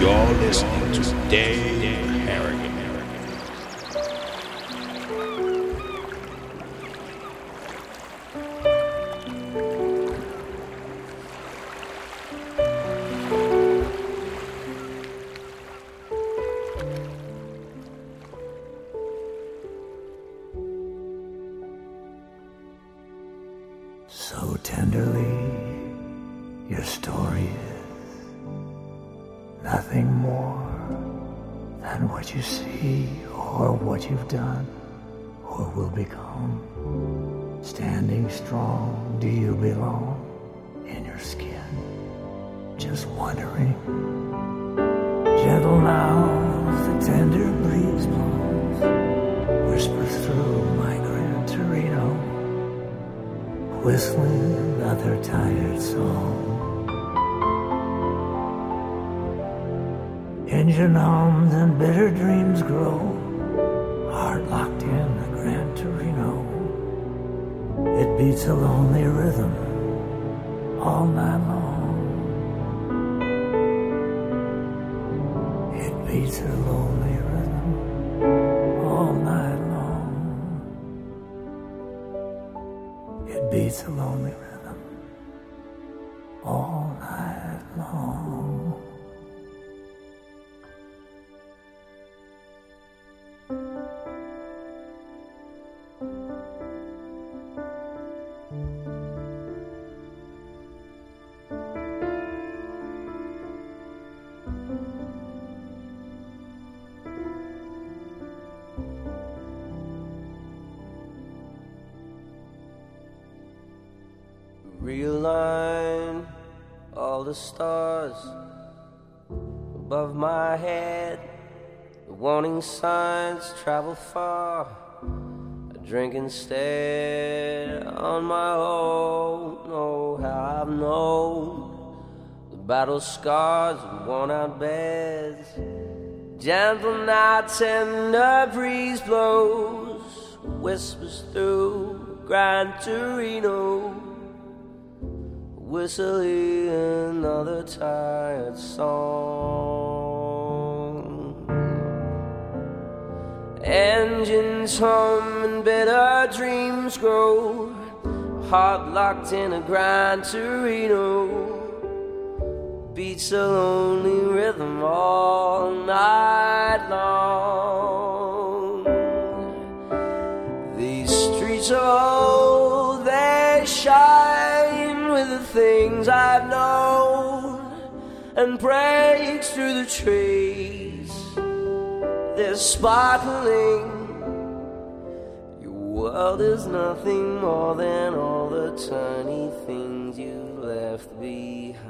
You're listening to Dave Harrigan. So tenderly, your story is nothing more than what you see or what you've done or will become. Standing strong, do you belong in your skin? Just wondering. Gentle now, the tender breeze blows, whispers through my Gran Torino, whistling another tired song. Engine hums and bitter dreams grow, heart locked in the Gran Torino. It beats a lonely rhythm all night long. It beats a lonely rhythm all night long. It beats a lonely rhythm all night long. Realign all the stars above my head. The warning signs travel far. I drink instead on my own. Oh, how I've known the battle scars and worn out beds. Gentle night, tender breeze blows, whispers through Gran Torino, whistling another tired song. Engines hum and bitter dreams grow, heart locked in a Gran Torino, beats a lonely rhythm all night long. These streets are old, they shine with the things I've known, and breaks through the trees, they're sparkling. Your world is nothing more than all the tiny things you left behind.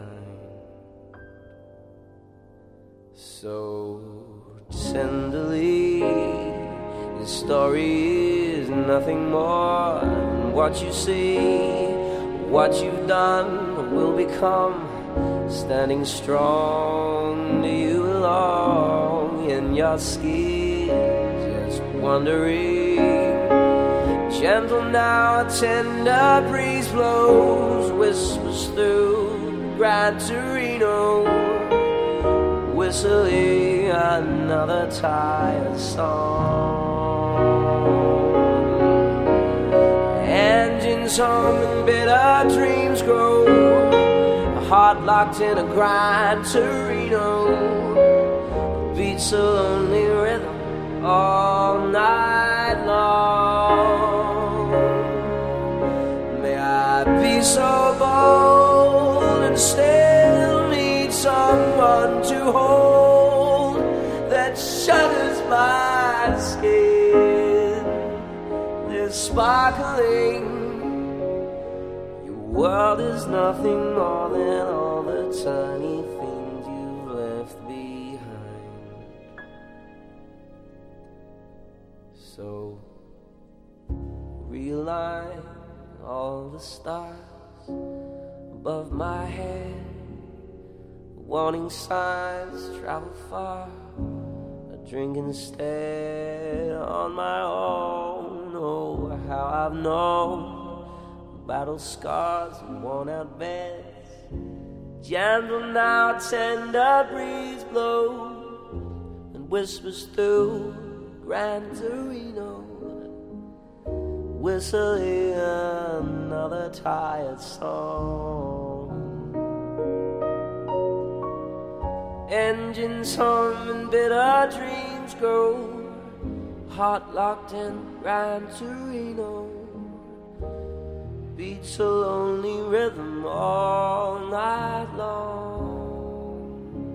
So tenderly, the story is nothing more than what you see, what you've done or will become. Standing strong, do you belong in your skin? Just wondering. Gentle now, a tender breeze blows, whispers through Gran Torino, whistling another tired song. Engines hum and bitter dreams grow, a heart locked in a Gran Torino, beats a lonely rhythm all night long. May I be so bold and still need someone to hold that shudders my skin. They're sparkling. Your world is nothing more than all the tiny things you've left behind. So realign all the stars above my head. Warning signs travel far. I drink instead on my own. Oh, how I've known battle scars and worn out beds. gentle now, tender breeze blows and whispers through Gran Torino, whistling another tired song. Engines hum and bitter dreams grow, heart locked in Gran Torino, beats a lonely rhythm all night long.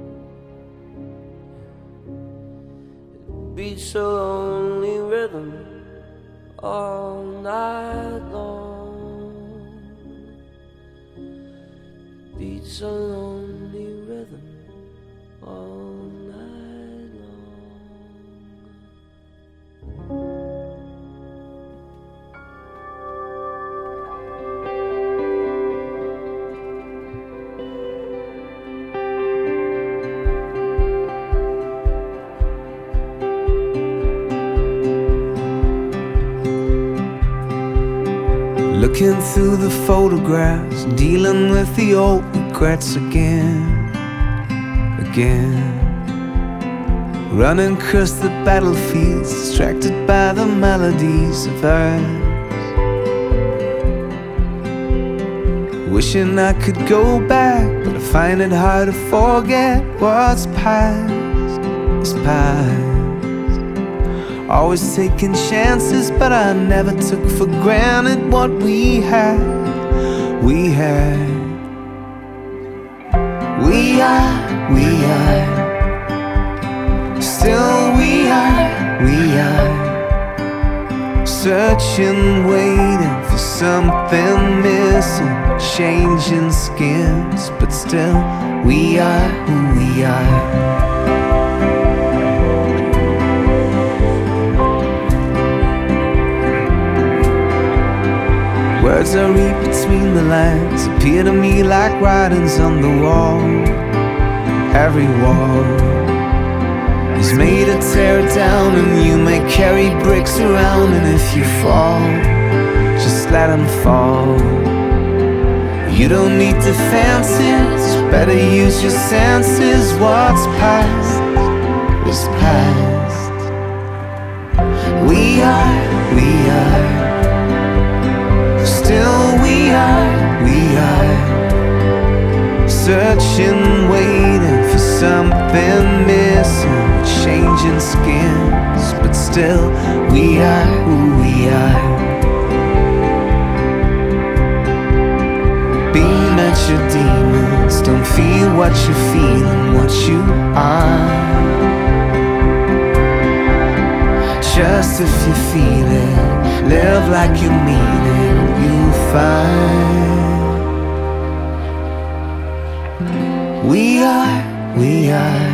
It beats a lonely rhythm all night long. Beats a lonely rhythm all night long. Looking through the photographs, dealing with the old regrets again. Running across the battlefields, distracted by the melodies of earth. Wishing I could go back, but I find it hard to forget what's past is past. Always taking chances, but I never took for granted what we had. We are, still we are, searching, waiting for something missing, changing skins, but still we are who we are. Words I read between the lines appear to me like writings on the wall. Every wall is made to tear it down, and you may carry bricks around, and if you fall, just let them fall. You don't need defenses, better use your senses. What's past is past. We are, still we are, searching, waiting for something missing, changing skins, but still we are who we are. Beam at your demons, don't feel what you're feeling, what you are. Just if you feel it, live like you mean it, you'll find. We are,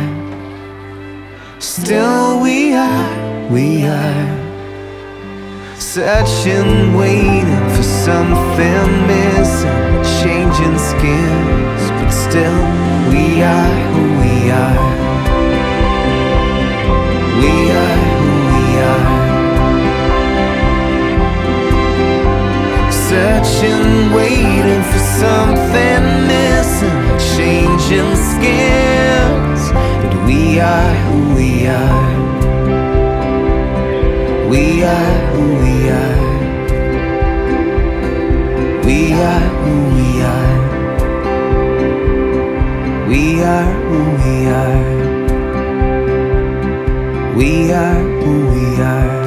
still we are, searching, waiting for something missing, changing skins, but still we are who we are. We are who we are, searching, waiting for something missing, changing skins, but we are who we are. We are who we are. We are who we are. We are who we are. We are who we are.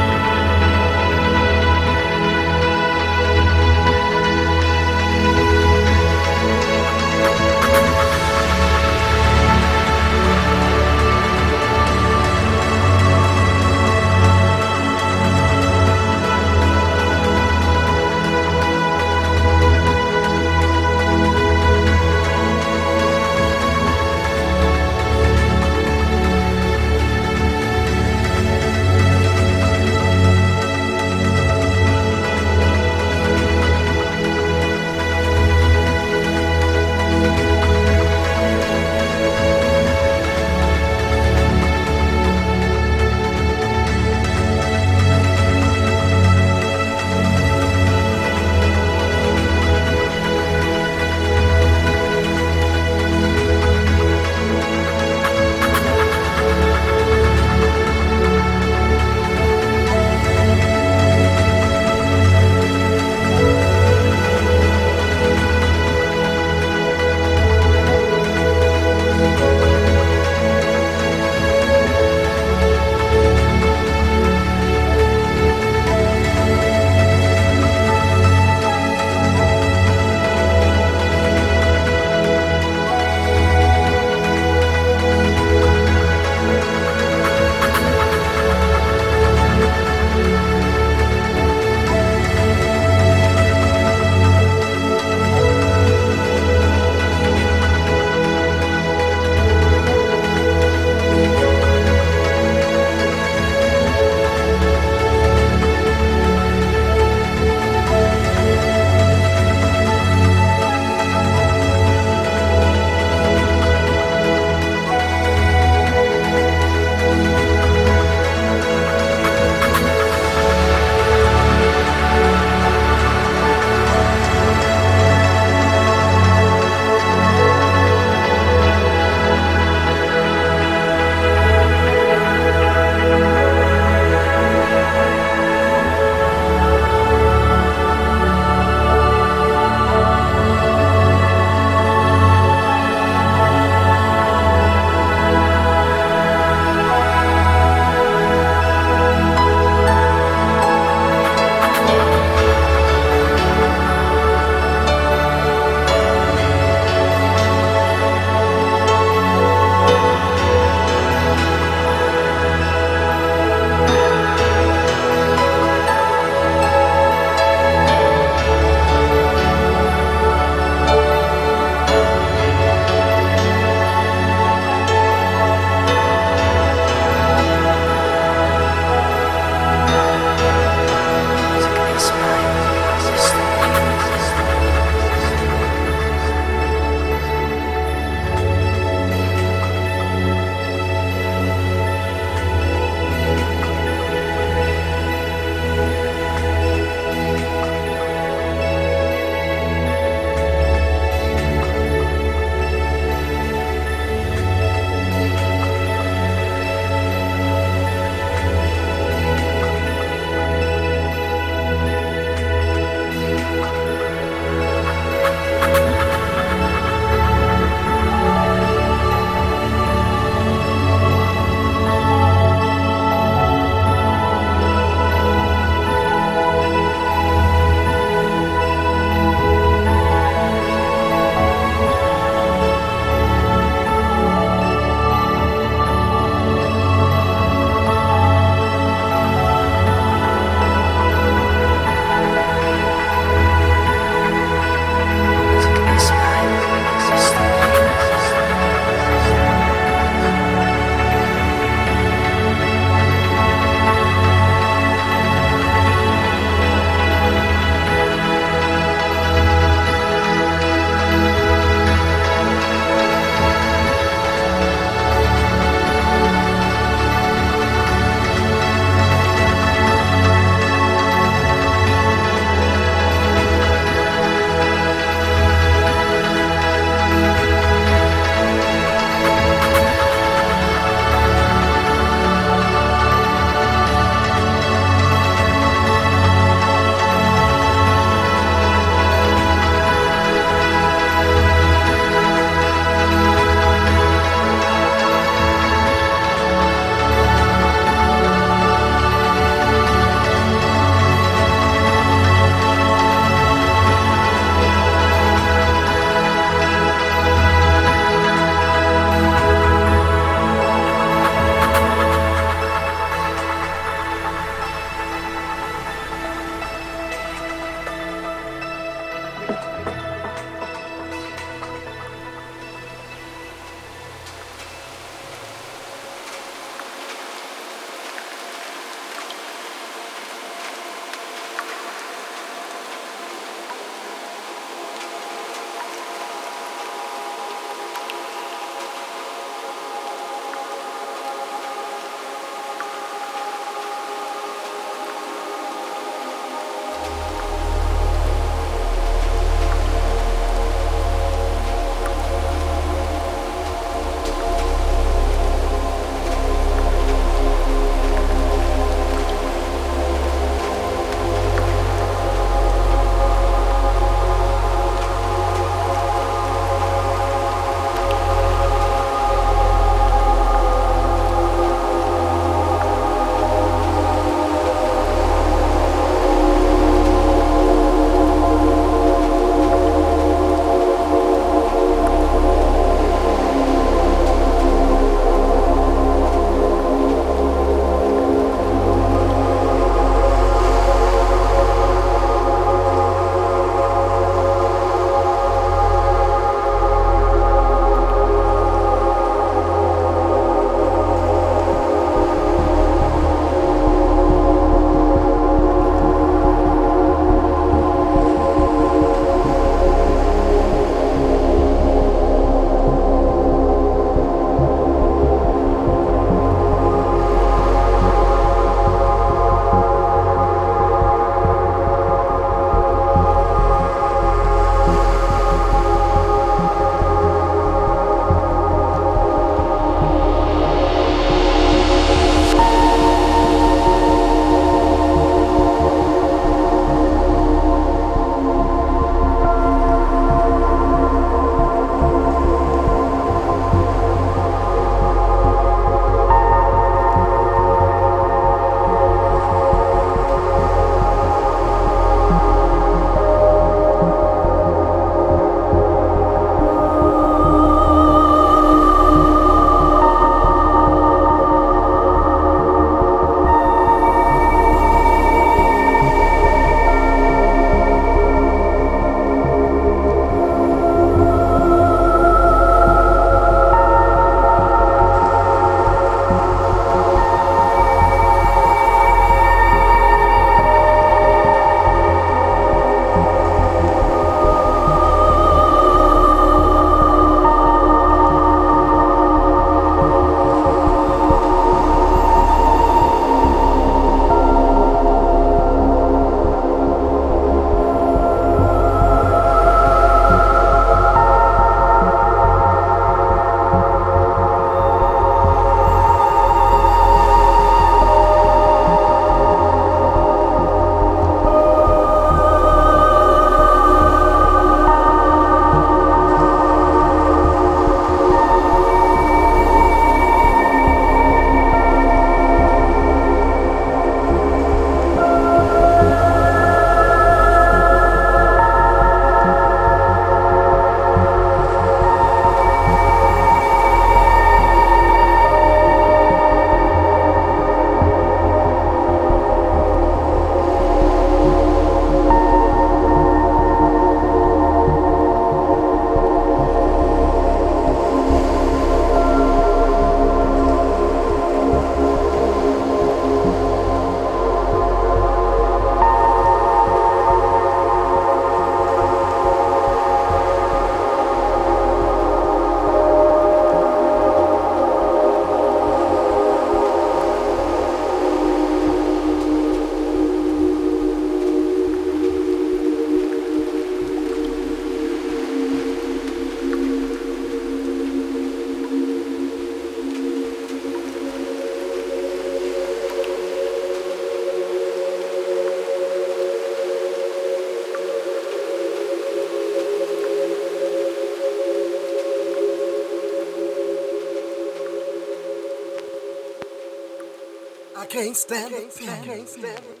can't stand it. I can't stand it.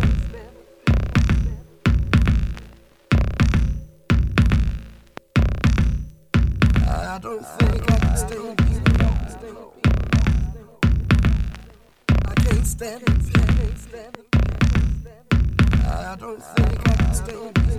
I don't think I can stand it. I can't stand it. I don't think I can stand it.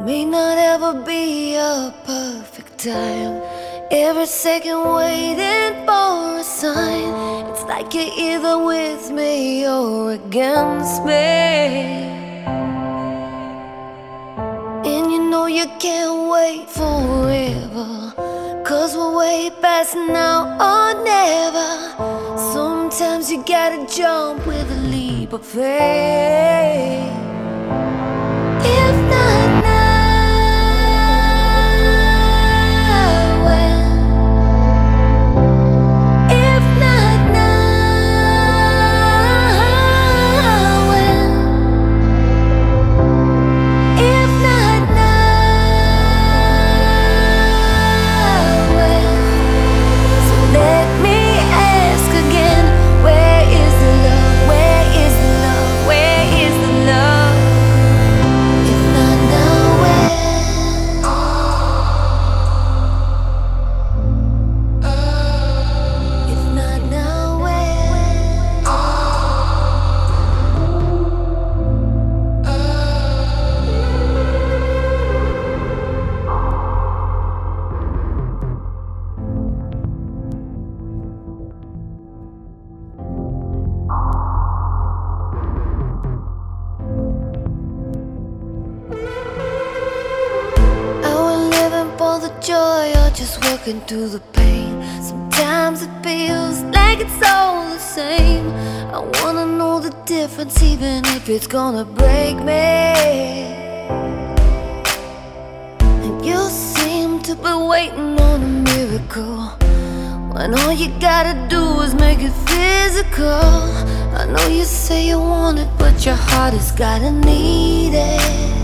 May not ever be a perfect time. Every second waiting for a sign. It's like you're either with me or against me. And you know you can't wait forever, 'cause we're way past now or never. Sometimes you gotta jump with a leap of faith. If not now, when? If not now, when? If not now, when? So let me ask again, where is the love? Where is the love? Where is the love? If not now, when? If not now, when? Are we living for the joy or just working through the pain? Sometimes it feels like it's all the same. I wanna know the difference, even if it's gonna break me. And you seem to be waiting on a miracle, when all you gotta do is make it physical. I know you say you want it, but your heart has gotta need it.